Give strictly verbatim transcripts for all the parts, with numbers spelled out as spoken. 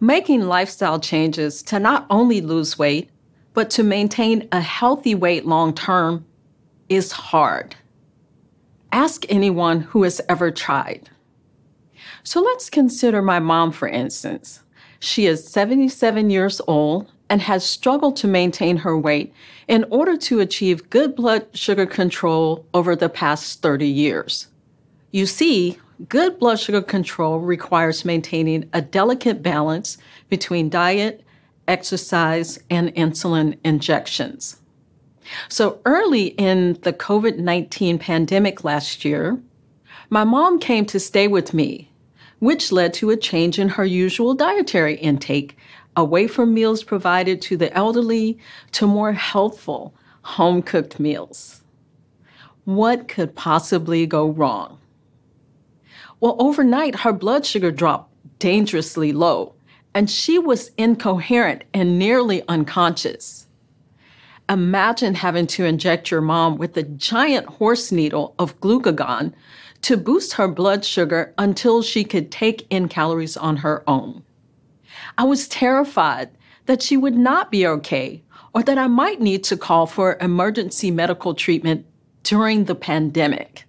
Making lifestyle changes to not only lose weight, but to maintain a healthy weight long term is hard. Ask anyone who has ever tried. So let's consider my mom, for instance. She is seventy-seven years old and has struggled to maintain her weight in order to achieve good blood sugar control over the past thirty years. You see, good blood sugar control requires maintaining a delicate balance between diet, exercise, and insulin injections. So early in the COVID nineteen pandemic last year, my mom came to stay with me, which led to a change in her usual dietary intake, away from meals provided to the elderly to more healthful, home-cooked meals. What could possibly go wrong? Well, overnight, her blood sugar dropped dangerously low, and she was incoherent and nearly unconscious. Imagine having to inject your mom with a giant horse needle of glucagon to boost her blood sugar until she could take in calories on her own. I was terrified that she would not be okay or that I might need to call for emergency medical treatment during the pandemic.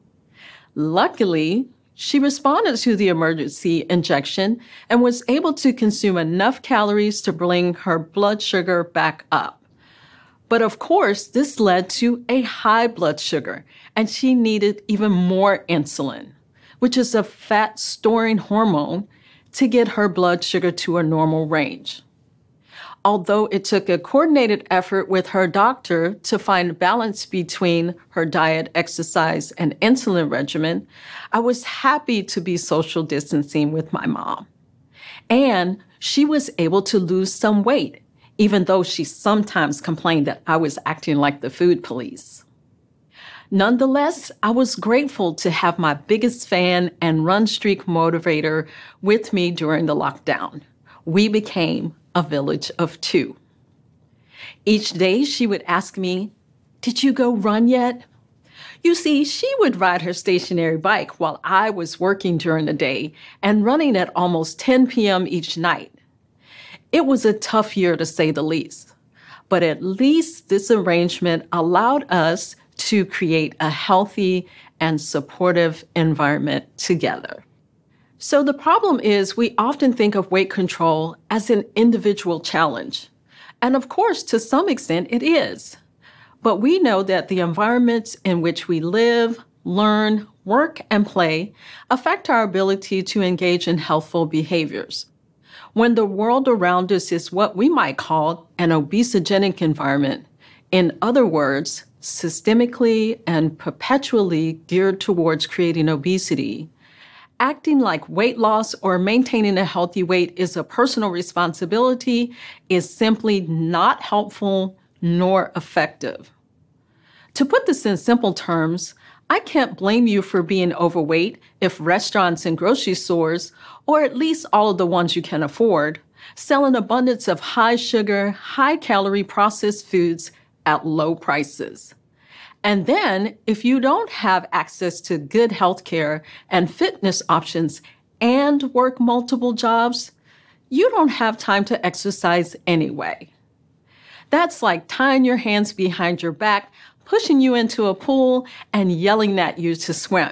Luckily, she responded to the emergency injection and was able to consume enough calories to bring her blood sugar back up. But of course, this led to a high blood sugar, and she needed even more insulin, which is a fat-storing hormone, to get her blood sugar to a normal range. Although it took a coordinated effort with her doctor to find a balance between her diet, exercise, and insulin regimen, I was happy to be social distancing with my mom. And she was able to lose some weight, even though she sometimes complained that I was acting like the food police. Nonetheless, I was grateful to have my biggest fan and run streak motivator with me during the lockdown. We became a village of two. Each day she would ask me, "Did you go run yet?" You see, she would ride her stationary bike while I was working during the day and running at almost ten p.m. each night. It was a tough year to say the least, but at least this arrangement allowed us to create a healthy and supportive environment together. So the problem is we often think of weight control as an individual challenge. And of course, to some extent, it is. But we know that the environments in which we live, learn, work, and play affect our ability to engage in healthful behaviors. When the world around us is what we might call an obesogenic environment, in other words, systemically and perpetually geared towards creating obesity, acting like weight loss or maintaining a healthy weight is a personal responsibility is simply not helpful nor effective. To put this in simple terms, I can't blame you for being overweight if restaurants and grocery stores, or at least all of the ones you can afford, sell an abundance of high sugar, high calorie processed foods at low prices. And then, if you don't have access to good health care and fitness options and work multiple jobs, you don't have time to exercise anyway. That's like tying your hands behind your back, pushing you into a pool, and yelling at you to swim.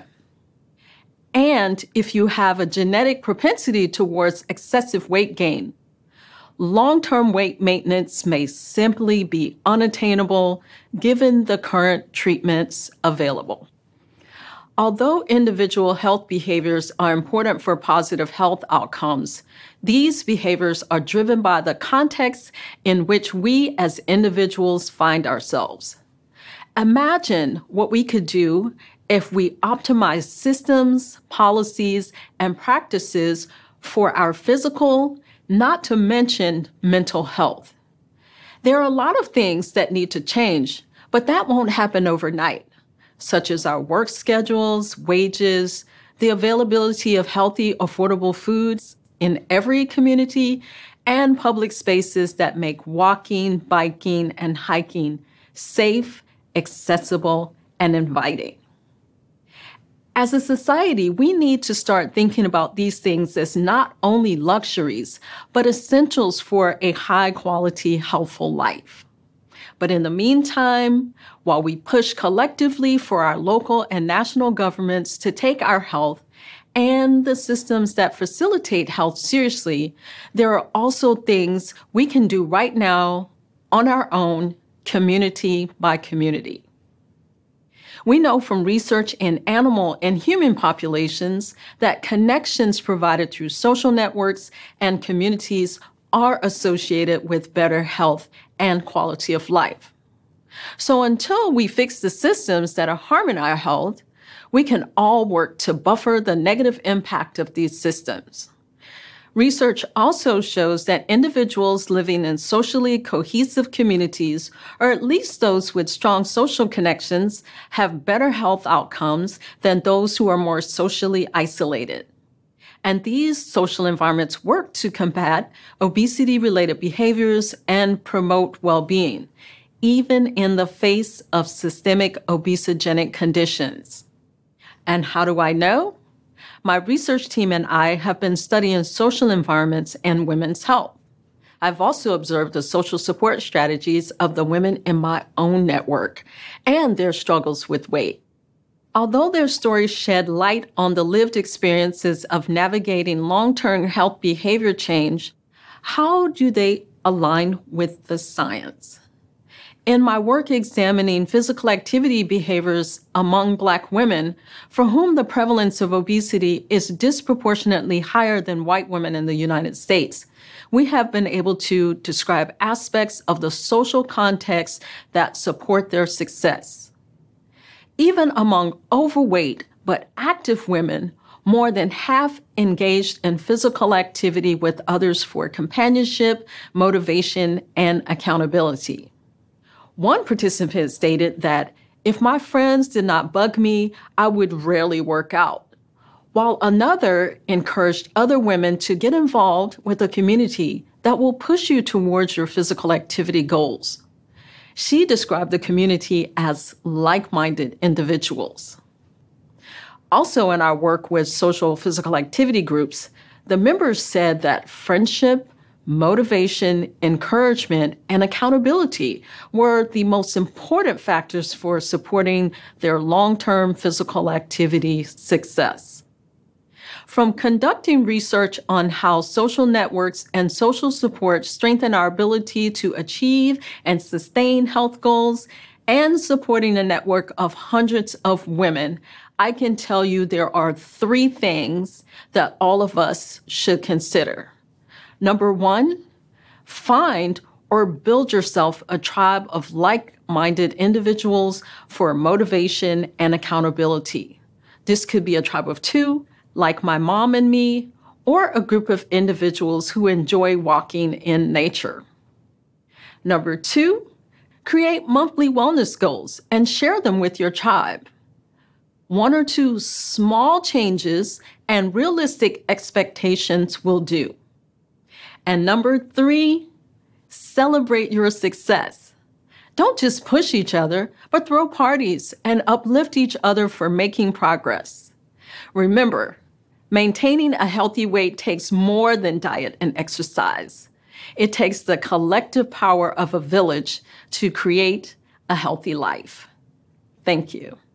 And if you have a genetic propensity towards excessive weight gain, long-term weight maintenance may simply be unattainable given the current treatments available. Although individual health behaviors are important for positive health outcomes, these behaviors are driven by the context in which we as individuals find ourselves. Imagine what we could do if we optimize systems, policies, and practices for our physical, not to mention mental health. There are a lot of things that need to change, but that won't happen overnight, such as our work schedules, wages, the availability of healthy, affordable foods in every community, and public spaces that make walking, biking, and hiking safe, accessible, and inviting. As a society, we need to start thinking about these things as not only luxuries, but essentials for a high-quality, healthful life. But in the meantime, while we push collectively for our local and national governments to take our health and the systems that facilitate health seriously, there are also things we can do right now on our own, community by community. We know from research in animal and human populations that connections provided through social networks and communities are associated with better health and quality of life. So until we fix the systems that are harming our health, we can all work to buffer the negative impact of these systems. Research also shows that individuals living in socially cohesive communities, or at least those with strong social connections, have better health outcomes than those who are more socially isolated. And these social environments work to combat obesity-related behaviors and promote well-being, even in the face of systemic obesogenic conditions. And how do I know? My research team and I have been studying social environments and women's health. I've also observed the social support strategies of the women in my own network and their struggles with weight. Although their stories shed light on the lived experiences of navigating long-term health behavior change, how do they align with the science? In my work examining physical activity behaviors among Black women, for whom the prevalence of obesity is disproportionately higher than white women in the United States, we have been able to describe aspects of the social context that support their success. Even among overweight but active women, more than half engaged in physical activity with others for companionship, motivation, and accountability. One participant stated that if my friends did not bug me, I would rarely work out, while another encouraged other women to get involved with a community that will push you towards your physical activity goals. She described the community as like-minded individuals. Also, in our work with social physical activity groups, the members said that friendship, motivation, encouragement, and accountability were the most important factors for supporting their long-term physical activity success. From conducting research on how social networks and social support strengthen our ability to achieve and sustain health goals, and supporting a network of hundreds of women, I can tell you there are three things that all of us should consider. Number one, find or build yourself a tribe of like-minded individuals for motivation and accountability. This could be a tribe of two, like my mom and me, or a group of individuals who enjoy walking in nature. Number two, create monthly wellness goals and share them with your tribe. One or two small changes and realistic expectations will do. And number three, celebrate your success. Don't just push each other, but throw parties and uplift each other for making progress. Remember, maintaining a healthy weight takes more than diet and exercise. It takes the collective power of a village to create a healthy life. Thank you.